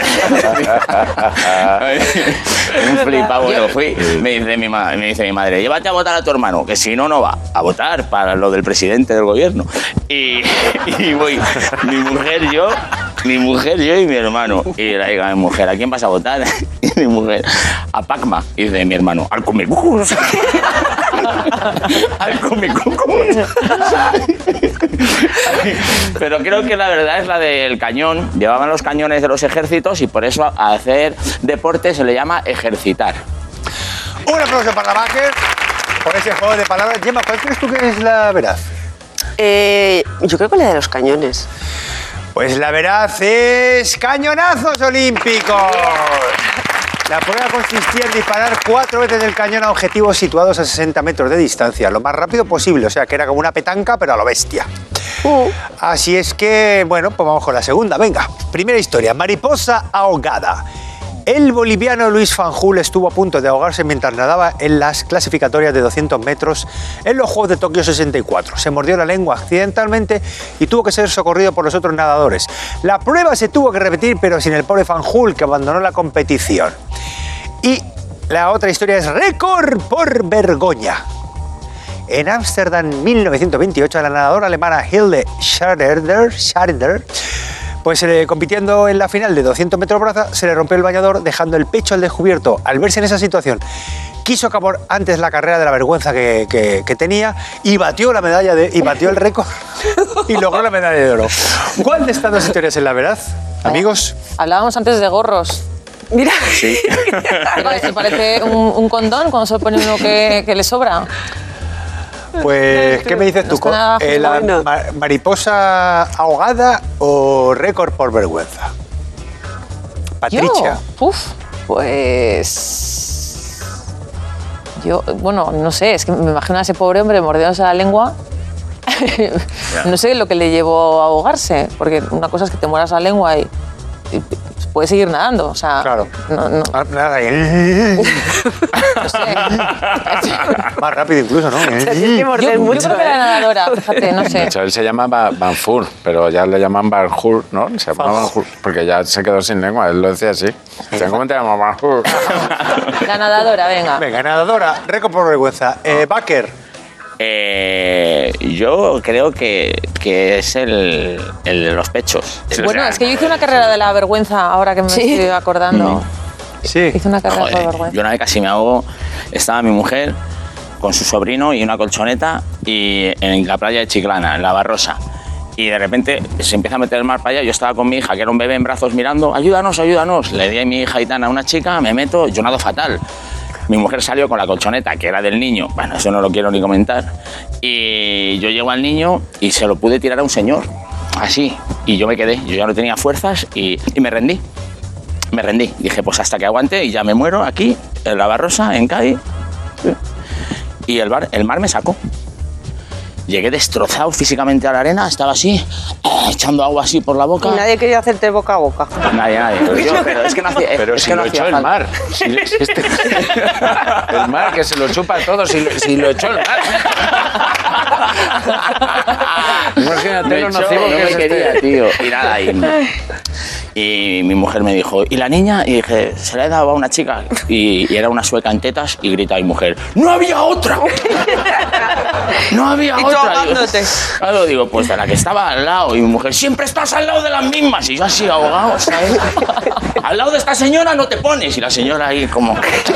Un flipado, bueno, fui, me dice mi madre, llévate a votar a tu hermano, que si no, no va a votar para lo del presidente del gobierno. Y voy, mi mujer, yo y mi hermano. Y le digo a mi mujer, ¿a quién vas a votar? Y mi mujer, a Pacma. Y dice mi hermano, al Comecucus. Al Comecucus. Pero creo que la verdad es la del cañón. Llevaban los cañones de los ejércitos y por eso a hacer deporte se le llama ejercitar. Un aplauso para la Baker por ese juego de palabras. Gemma, ¿cuál crees tú que es la veraz? Yo creo que la de los cañones. Pues la veraz es cañonazos olímpicos. La prueba consistía en disparar 4 veces el cañón a objetivos situados a 60 metros de distancia, lo más rápido posible, o sea que era como una petanca, pero a lo bestia. Así es que, bueno, pues vamos con la segunda. Venga, primera historia, mariposa ahogada. El boliviano Luis Fanjul estuvo a punto de ahogarse mientras nadaba en las clasificatorias de 200 metros en los Juegos de Tokio 64. Se mordió la lengua accidentalmente y tuvo que ser socorrido por los otros nadadores. La prueba se tuvo que repetir, pero sin el pobre Fanjul, que abandonó la competición. Y la otra historia es récord por vergüenza. En Ámsterdam, 1928, la nadadora alemana Hilde Schrader, pues compitiendo en la final de 200 metros braza, se le rompió el bañador dejando el pecho al descubierto. Al verse en esa situación, quiso acabar antes la carrera de la vergüenza que tenía y batió la medalla y batió el récord y logró la medalla de oro. ¿Cuál de estas dos historias es la verdad, amigos? Hablábamos antes de gorros. Mira. Sí. Pero esto parece un condón cuando se pone uno que le sobra. Pues, ¿qué me dices tú? No está nada ¿La bueno. mariposa ahogada o récord por vergüenza? Patricia. Pues... Yo, bueno, no sé, es que me imagino a ese pobre hombre mordiéndose la lengua. No sé lo que le llevó a ahogarse, porque una cosa es que te mueras la lengua y puedes seguir nadando, o sea... Claro. No Nada, sé. más rápido incluso, ¿no? Yo creo que era nadadora, fíjate, no De sé. hecho, él se llama Van Fur, pero ya le llaman Van Hur, ¿no? Se llama Van Hur, porque ya se quedó sin lengua, él lo decía así. O sea, ¿cómo te llamas Van Hur? La nadadora, venga. Venga, nadadora, récord por vergüenza. Baker. Yo creo que es el de los pechos. Bueno, es que yo hice una carrera de la vergüenza, ahora que me estoy acordando. Sí. Hice una carrera Joder, por vergüenza. yo una vez casi me ahogo, estaba mi mujer con su sobrino y una colchoneta y en la playa de Chiclana, en la Barrosa. Y de repente se empieza a meter el mar para allá. Yo estaba con mi hija, que era un bebé en brazos, mirando, ayúdanos, ayúdanos. Le di a mi hija Aitana a una chica, me meto, yo nado fatal. Mi mujer salió con la colchoneta, que era del niño. Bueno, eso no lo quiero ni comentar. Y yo llego al niño y se lo pude tirar a un señor, así. Y yo me quedé, yo ya no tenía fuerzas y me rendí. Me rendí. Dije, pues hasta que aguante y ya me muero aquí, en la Barrosa, en Cádiz. Y el mar me sacó. Llegué destrozado físicamente a la arena, estaba así, echando agua así por la boca. Y nadie quería hacerte boca a boca. Nadie. Pero es que no hacía. Pero es si que no lo hacía echó el falta. mar. El mar que se lo chupa todo, si lo echó el mar. Imagínate Me lo echó, nocivo no que me es quería, tío. Y nada, y mi mujer me dijo, ¿y la niña? Y dije, se la he dado a una chica. Y era una sueca en tetas y grita a mi mujer, ¡no había otra! ¡No había Y tú otra! ahogándote. Claro, digo, pues de la que estaba al lado. Y mi mujer, siempre estás al lado de las mismas. Y yo así ahogado, ¿sabes? Al lado de esta señora no te pones. Y la señora ahí como...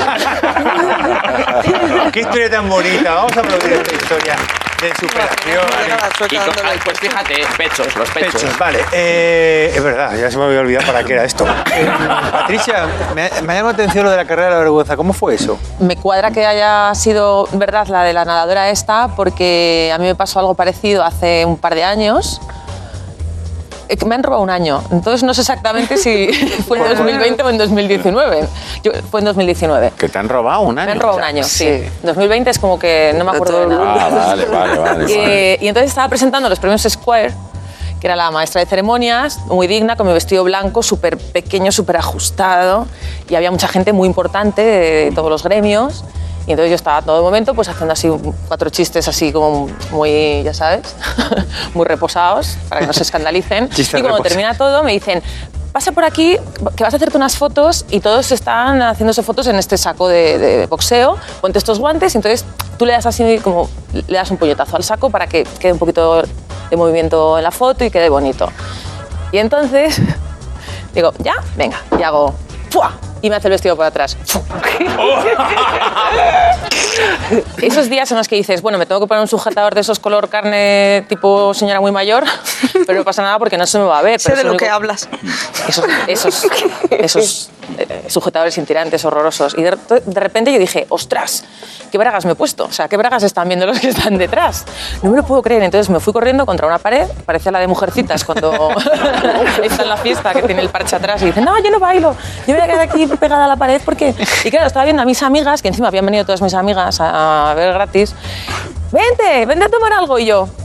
Qué historia tan bonita. Vamos a aplaudir esta historia de superación. Y pues fíjate, los pechos. Pechos, vale. Es verdad, ya se me había olvidado para qué era esto. Patricia, me ha llamado la atención lo de la carrera de la vergüenza. ¿Cómo fue eso? Me cuadra que haya sido verdad la de la nadadora esta, porque a mí me pasó algo parecido hace un par de años. Me han robado un año, entonces no sé exactamente si fue en 2020 o en 2019. Fue en 2019. Que te han robado un año. Me han robado un año, sí. 2020 es como que no me acuerdo de nada. Vale. Y entonces estaba presentando los premios Square, que era la maestra de ceremonias, muy digna, con mi vestido blanco, súper pequeño, súper ajustado, y había mucha gente muy importante de todos los gremios. Y entonces yo estaba todo el momento pues haciendo así 4 chistes así como muy, ya sabes, muy reposados, para que no se escandalicen. Chistes y cuando reposados. termina todo me dicen, pasa por aquí, que vas a hacerte unas fotos, y todos están haciéndose fotos en este saco de boxeo, ponte estos guantes, y entonces tú le das así como, le das un puñetazo al saco para que quede un poquito de movimiento en la foto y quede bonito. Y entonces digo, ¿ya? Venga, y hago, ¡fua! Y me hace el vestido por atrás. Esos días en los que dices, bueno, me tengo que poner un sujetador de esos color carne tipo señora muy mayor, pero no pasa nada porque no se me va a ver. Sé pero de es lo único- que hablas. Esos sujetadores sin tirantes horrorosos. Y de repente yo dije, ostras, ¿qué bragas me he puesto? O sea, ¿qué bragas están viendo los que están detrás? No me lo puedo creer. Entonces me fui corriendo contra una pared, parecía la de Mujercitas cuando está en la fiesta, que tiene el parche atrás y dice, no, yo no bailo, yo me voy a quedar aquí pegada a la pared porque... Y claro, estaba viendo a mis amigas, que encima habían venido todas mis amigas a ver gratis, vente a tomar algo, y yo...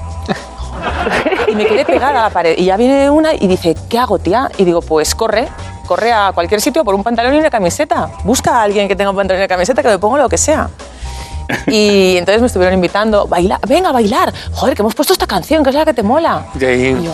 Y me quedé pegada a la pared. Y ya viene una y dice, ¿qué hago, tía? Y digo, pues corre a cualquier sitio por un pantalón y una camiseta. Busca a alguien que tenga un pantalón y una camiseta, que me pongo lo que sea. Y entonces me estuvieron invitando, venga a bailar. Joder, que hemos puesto esta canción, que es la que te mola. De ahí. Y yo...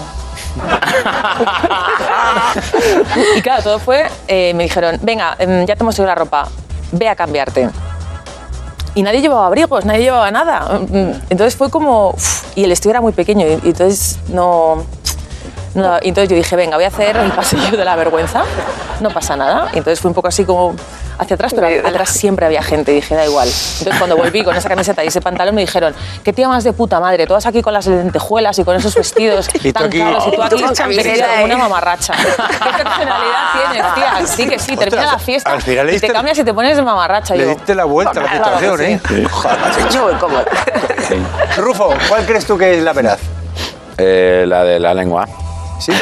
Y claro, todo fue, me dijeron, venga, ya te hemos traído la ropa, ve a cambiarte. Y nadie llevaba abrigos, nadie llevaba nada. Entonces fue como... Y el vestido era muy pequeño, y entonces no... Y entonces yo dije, venga, voy a hacer el pasillo de la vergüenza, no pasa nada. Y entonces fui un poco así como hacia atrás, pero atrás siempre había gente, y dije, da igual. Entonces cuando volví con esa camiseta y ese pantalón me dijeron, qué tía más de puta madre, todas aquí con las lentejuelas y con esos vestidos Y tú tan aquí- caros, y tú aquí con camiseta, vestida como una ¿eh? mamarracha. ¿Qué personalidad tienes, tía? Sí que sí, termina la fiesta al final le y te diste- cambias y te pones de mamarracha. Le Y yo, diste la vuelta a la claro que situación, sí. ¿eh? Joder, Yo voy cómoda. Rufo, ¿cuál crees tú que es la veraz? La de la lengua. ¿Sí?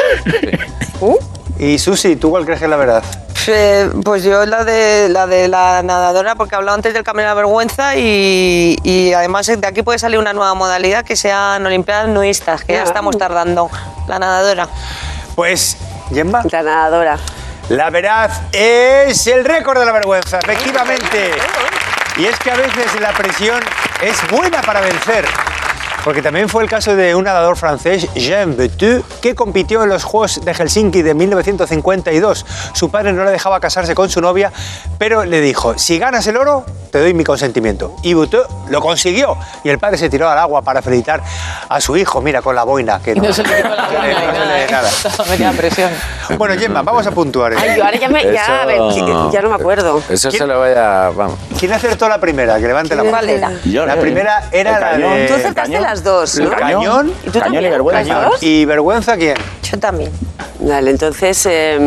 Y Susi, ¿tú cuál crees que es la verdad? Pues yo la de la nadadora, porque he hablado antes del camino de la vergüenza y además de aquí puede salir una nueva modalidad que sean olimpiadas nudistas, que ya estamos tardando. La nadadora. Pues, Gemma, La nadadora. la verdad es el récord de la vergüenza, efectivamente. Y es que a veces la presión es buena para vencer. Porque también fue el caso de un nadador francés, Jean Vetu, que compitió en los Juegos de Helsinki de 1952. Su padre no le dejaba casarse con su novia, pero le dijo, si ganas el oro, te doy mi consentimiento. Y Vetu lo consiguió. Y el padre se tiró al agua para felicitar a su hijo, mira, con la boina. Que Y no se le quitó la boina ni nada, ¿eh? nada. Me queda presión. Bueno, Gemma, vamos a puntuar. Ay, yo ahora a ver, ya no me acuerdo. Eso se lo voy a... Vamos. ¿Quién acertó la primera? Que levante la mano. ¿Cuál era? Yo, La primera era el la cañón. de... Tú acertaste las dos, ¿no? El cañón. ¿Y tú Cañón también? y vergüenza. ¿Las dos? ¿Y vergüenza quién? Yo también. Vale, entonces...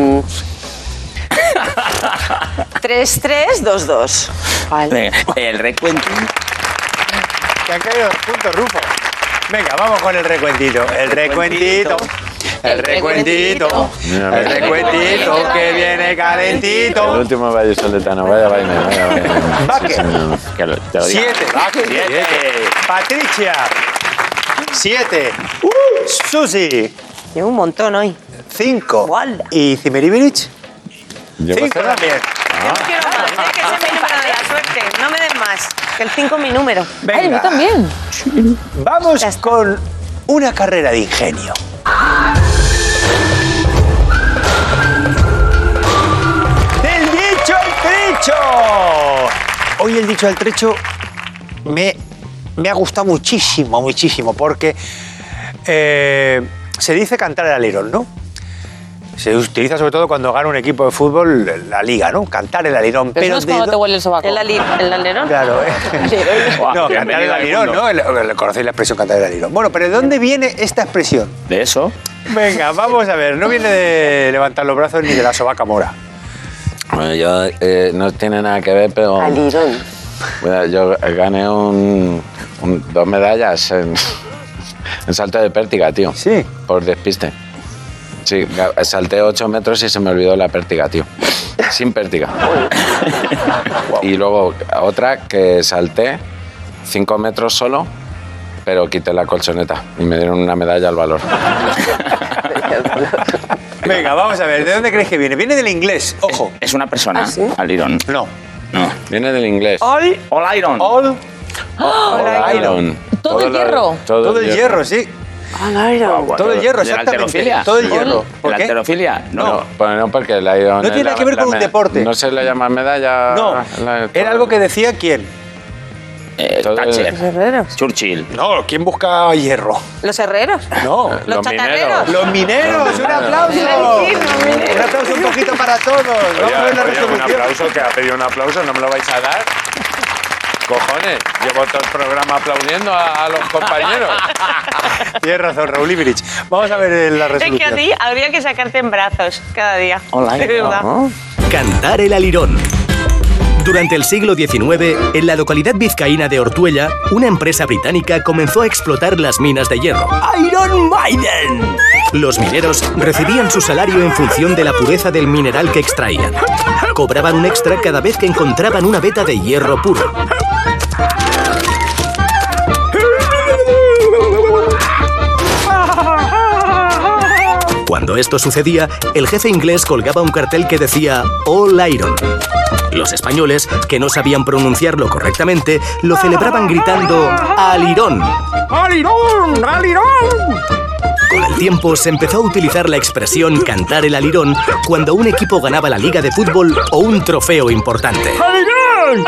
3-3-2-2. Venga, el recuentín. Que han caído 2 puntos, Rufo. Venga, vamos con el recuentito. El recuentito. El recuentito. El recuentito que viene El calentito. último vallisoletano, vaya vaina. Baque. Que te lo diga. 7. Siete. Patricia. 7. Susi. Llevo un montón hoy. 5. Guala. ¿Y Cimeribirich? Yo 5 también. Yo no quiero más, que ese es mi número de la suerte. No me den más. Que el 5 es mi número. Ay, Venga. yo también. Vamos con una carrera de ingenio. ¡Del dicho al trecho! Hoy el dicho al trecho me ha gustado muchísimo, porque se dice cantar el alirón, ¿no? Se utiliza sobre todo cuando gana un equipo de fútbol la liga, ¿no? Cantar el alirón. Pero no es cuando te huele el sobaco. El alerón. Claro, no, cantar el bienvenido al alirón, mundo. ¿no? Conocéis la expresión cantar el alirón. Bueno, pero ¿de dónde viene esta expresión? De eso. Venga, vamos a ver. No viene de levantar los brazos ni de la sobaca mora. Bueno, yo no tiene nada que ver, pero... Alirón. Bueno, yo gané 2 medallas en salto de pértiga, tío. Sí. Por despiste. Sí, salté 8 metros y se me olvidó la pértiga, tío. Sin pértiga. Y luego otra que salté 5 metros solo, pero quité la colchoneta y me dieron una medalla al valor. Venga, vamos a ver. ¿De dónde crees que viene? Viene del inglés. Ojo. Es una persona, ¿Ah, sí? alirón. No. No. Viene del inglés. All All iron. All. Iron. ¿Todo el hierro? Todo el hierro, sí. Alirón. Todo el hierro, ¿De la exactamente. halterofilia? Todo el hierro. ¿Por ¿La qué? halterofilia? No. Pues no, porque el iron... No tiene nada que ver con un deporte. No se le llama medalla... No. Era algo que decía quién. Todo el- Thatcher. herreros. Churchill. No, ¿quién busca hierro? ¿Los herreros? No. ¿Los chatarreros? Los mineros, un aplauso. Un aplauso un poquito para todos. Vamos a ver la un resolución. aplauso, que ha pedido un aplauso, ¿no me lo vais a dar? Cojones, llevo todo el programa aplaudiendo a los compañeros. Tienes razón, Raúl Ibrich. Vamos a ver la Es que a resolución. ti habría que sacarte en brazos cada día. All De iron. verdad. Cantar el alirón. Durante el siglo XIX, en la localidad vizcaína de Ortuella, una empresa británica comenzó a explotar las minas de hierro. ¡Iron Maiden! Los mineros recibían su salario en función de la pureza del mineral que extraían. Cobraban un extra cada vez que encontraban una veta de hierro puro. Cuando esto sucedía, el jefe inglés colgaba un cartel que decía All Iron. Los españoles, que no sabían pronunciarlo correctamente, lo celebraban gritando ¡Alirón! ¡Alirón! ¡Alirón! Con el tiempo se empezó a utilizar la expresión cantar el alirón cuando un equipo ganaba la liga de fútbol o un trofeo importante. ¡Alirón!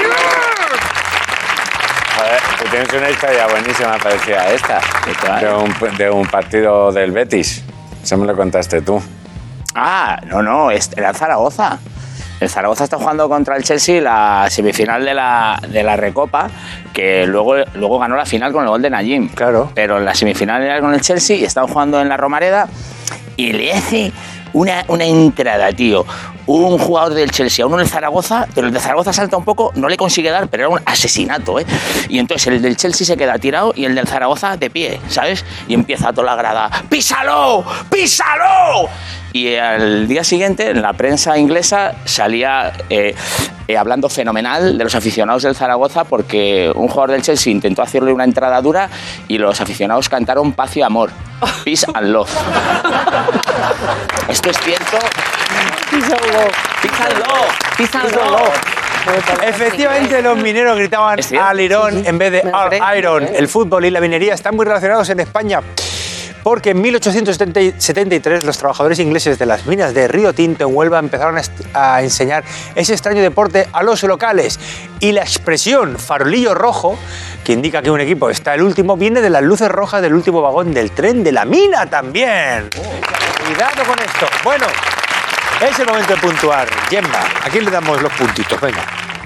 Joder, tú tienes una historia buenísima parecida a esta. De un partido del Betis. Eso me lo contaste tú. Ah, no, era el Zaragoza. El Zaragoza está jugando contra el Chelsea la semifinal de la Recopa, que luego ganó la final con el gol de Najim. Claro. Pero en la semifinal era con el Chelsea y estaban jugando en la Romareda y le hace una entrada, tío. Un jugador del Chelsea a uno del Zaragoza, pero el de Zaragoza salta un poco, no le consigue dar, pero era un asesinato, ¿eh? Y entonces el del Chelsea se queda tirado y el del Zaragoza de pie, ¿sabes? Y empieza toda la grada, ¡písalo! ¡Písalo! Y al día siguiente, en la prensa inglesa, salía hablando fenomenal de los aficionados del Zaragoza porque un jugador del Chelsea intentó hacerle una entrada dura y los aficionados cantaron paz y amor. Peace and love. Esto es cierto. Peace and love. Peace and love. Efectivamente, los mineros gritaban ¿Es cierto? al Irón en vez de Me lo al creo. Iron. El fútbol y la minería están muy relacionados en España. Porque en 1873 los trabajadores ingleses de las minas de Río Tinto en Huelva empezaron a enseñar ese extraño deporte a los locales. Y la expresión farolillo rojo, que indica que un equipo está el último, viene de las luces rojas del último vagón del tren de la mina también. Cuidado con esto. Bueno, es el momento de puntuar. Gemma, ¿a quién le damos los puntitos? Venga.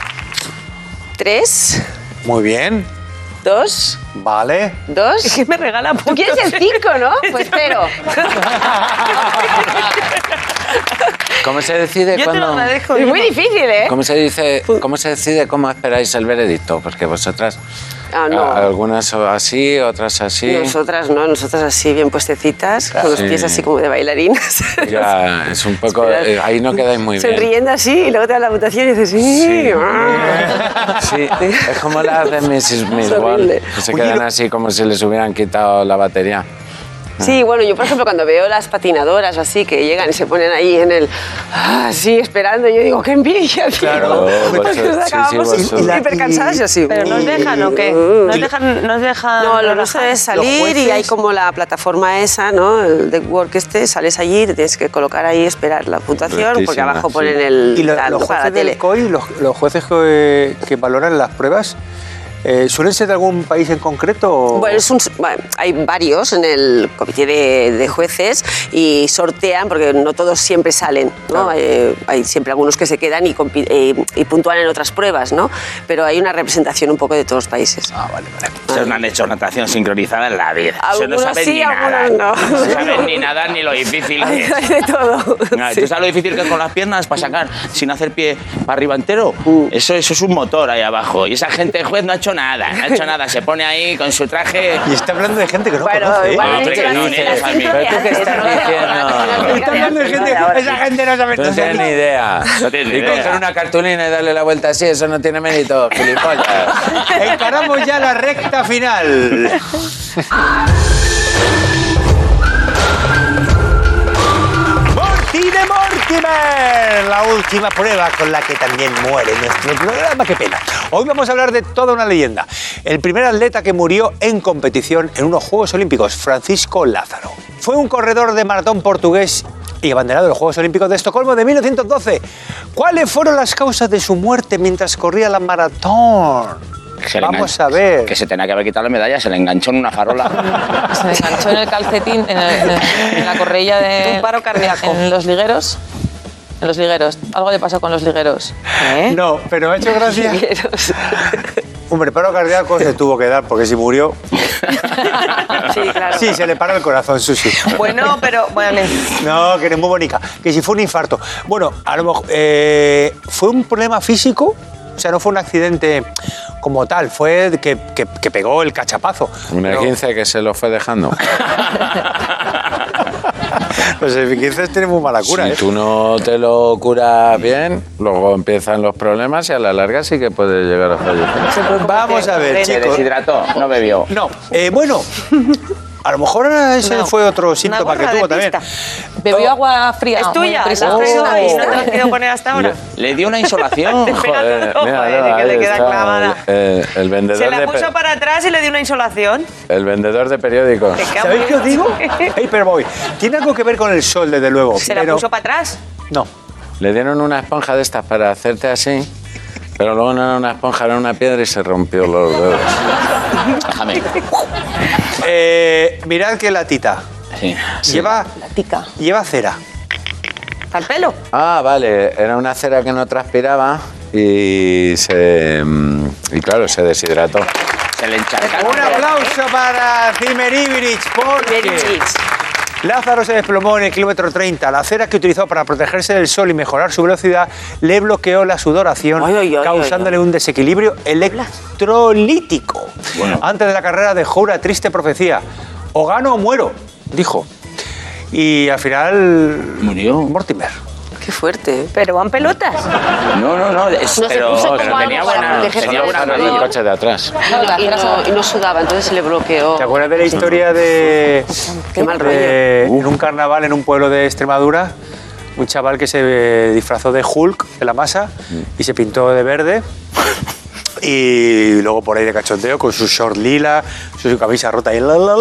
3, Muy bien. 2, Vale. 2. Es que me regala Tú puntos. quieres el 5, ¿no? Pues 0. ¿Cómo se decide Yo te lo cuando...? agradezco. Es muy difícil, ¿eh? ¿Cómo se decide cómo esperáis el veredicto? Porque vosotras, Ah, no. algunas así, otras así. Nosotras no, nosotras así bien puestecitas, con los Sí. pies así como de bailarinas. Ya, es un poco... Esperas. ahí no quedáis muy bien. Sonriendo así y luego te da la votación y dices, sí. Sí, es como las de Mrs. Millwall, horrible. que se Oye, quedan lo- así como si les hubieran quitado la batería. Sí, bueno, yo por ejemplo cuando veo las patinadoras o así que llegan y se ponen ahí en el... así esperando, yo digo, qué envidia, tío. Claro. Porque Vosotros- nos sí, acabamos sí, vosotros. hiper cansadas y así. ¿Pero nos dejan o qué? ¿Nos dejan No, lo nuestro relajar? es salir jueces- y hay como la plataforma esa, ¿no? El deck work sales allí, te tienes que colocar ahí, esperar la puntuación, porque Rectísima, abajo sí. ponen el ¿Y los tanto para la jueces del tele. COI, los jueces que valoran las pruebas, suelen ser de algún país en concreto? o- Bueno, hay varios en el comité de jueces y sortean, porque no todos siempre salen, ¿no? Claro. Hay siempre algunos que se quedan y puntúan en otras pruebas, ¿no? Pero hay una representación un poco de todos los países. Ah, vale, vale. Ustedes no han hecho natación sincronizada en la vida. Eso no Algunos saben sí, ni nada. algunos no. No saben ni nada ni lo difícil que Hay es. de todo. No, Sí. ¿tú sabes lo difícil que es con las piernas para sacar sin hacer pie para arriba entero? Eso es un motor ahí abajo. Y esa gente de juez no ha hecho nada, no ha hecho nada. Se pone ahí con su traje. Y está hablando de gente que no Bueno, conoce, ¿eh? igual Ah, he hombre, dicho que no, las- ni las eso a mí. sincronías, ¿Pero tú qué eso estás no lo de diciendo? ahora. Está hablando de gente, Ahora. esa gente no sabe. No tienes ni idea. No tienes ni y idea. coger una cartulina y darle la vuelta así, eso no tiene mérito, gilipollas. Encaramos ya la recta final. Mortine Mortimer, la última prueba con la que también muere nuestro programa. Qué pena. Hoy vamos a hablar de toda una leyenda. El primer atleta que murió en competición en unos Juegos Olímpicos, Francisco Lázaro. Fue un corredor de maratón portugués y abanderado de los Juegos Olímpicos de Estocolmo de 1912. ¿Cuáles fueron las causas de su muerte mientras corría la maratón? Se le Vamos engan- a ver. Que se tenía que haber quitado la medalla, se le enganchó en una farola. Se le enganchó en el calcetín, en la correilla de... Un paro cardíaco. En los ligueros. En los ligueros. Algo le pasó con los ligueros. No, pero me ha hecho gracia. Hombre, paro cardíaco se tuvo que dar porque si murió. Sí, claro. Sí, se le paró el corazón, Susi. Bueno, pero vale. No, que eres muy bonica. Que si fue un infarto. Bueno, a lo mejor. ¿Fue un problema físico? O sea, no fue un accidente como tal, fue que pegó el cachapazo. Una Pero- 15 que se lo fue dejando. Los F-15 tienen muy mala cura, Si ¿eh? tú no te lo curas bien, luego empiezan los problemas y a la larga sí que puedes llegar a fallecer. Vamos a ver, Se chicos. deshidrató, no bebió. No, bueno. A lo mejor ese No, fue otro síntoma que gorra de tuvo también. pista. Bebió agua fría. Es muy tuya, la has deprisa. traído hoy, no te la has querido poner hasta ahora. Le dio una insolación. Joder, Joder, míralo, que le ahí queda está, clavada. el vendedor Se la de puso para atrás y le dio una insolación. el vendedor de periódicos. Te queda ¿Sabéis muy qué os bien. digo? Paperboy. Tiene algo que ver con el sol, desde luego. Se la pero- puso para atrás. No. Le dieron una esponja de estas para hacerte así, pero luego no era una esponja, era una piedra y se rompió los dedos. Déjame. Mirad qué latita. Sí. Lleva, La tica. lleva cera. Al pelo. Ah, vale, era una cera que no transpiraba y claro, se deshidrató. Se le encharcaron. Un aplauso para Zimmer Ibrich, porque Ibrich. Lázaro se desplomó en el kilómetro 30. La cera que utilizó para protegerse del sol y mejorar su velocidad le bloqueó la sudoración, Ay, ay, ay, causándole un desequilibrio electrolítico. Bueno. Antes de la carrera dejó una triste profecía. O gano o muero, dijo. Y al final... Murió. Mortimer. Qué fuerte. Pero van pelotas. No, No, se pero, puso pero como tenía algo para buena, protegerse tenía del buena sol. En el rodilla. coche de atrás. Y no sudaba, entonces se le bloqueó. ¿Te acuerdas de la historia de... Qué mal en un carnaval en un pueblo de Extremadura? un chaval que se disfrazó de Hulk, de la masa, y se pintó de verde. Y luego por ahí de cachondeo con su short lila, su camisa rota y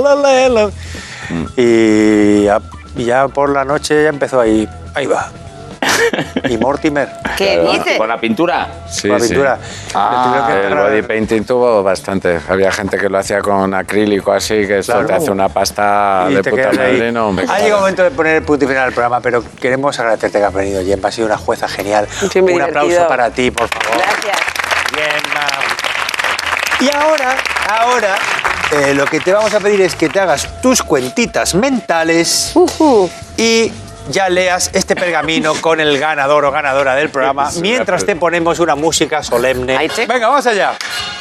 y ya por la noche ya empezó ahí va. Y Mortimer. ¿Qué dices? ¿Con la pintura? Sí, con la pintura. El body painting tuvo bastante. Había gente que lo hacía con acrílico así, que esto Claro. te hace una pasta Y de te puta quedas ahí. madre. No, hombre, Ha llegado el momento de poner el punto y final al programa, pero queremos agradecerte que has venido, Gemma. Has sido una jueza genial. Sí, muy Un aplauso divertido. para ti, por favor. Gracias. Gemma. Y ahora, lo que te vamos a pedir es que te hagas tus cuentitas mentales y ya leas este pergamino con el ganador o ganadora del programa Es una mientras te ponemos una música solemne. Ahí te- Venga, vamos allá.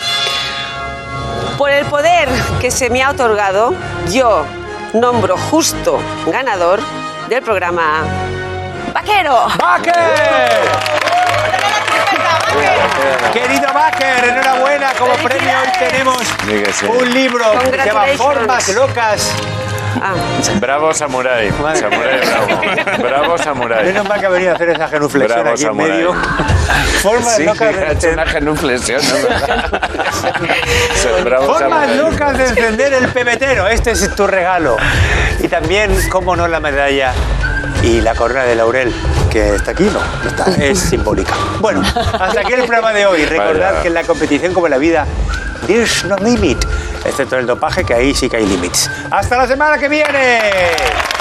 Por el poder que se me ha otorgado, yo nombro justo ganador del programa Vaquero. ¡Baker! Querido Baker, enhorabuena. Como premio hoy tenemos Di que sí. un libro que se llama Congratulations. Formas Locas. Ah, Bravo Samurai. Madre. Samurai bravo. Bravo Samurai. Menos mal que ha venido a hacer esa genuflexión Bravo, aquí en Samurai. medio. Formas Sí, locas ha hecho de una genuflexión, ¿no? Bravo Formas Samurai. locas de encender el pebetero. Este es tu regalo. Y también, cómo no, la medalla y la corona de laurel, que está aquí, no está, es simbólica. Bueno, hasta aquí el programa de hoy. Recordad Vaya. que en la competición, como en la vida, there's no limit, excepto en el dopaje, que ahí sí que hay límites. ¡Hasta la semana que viene!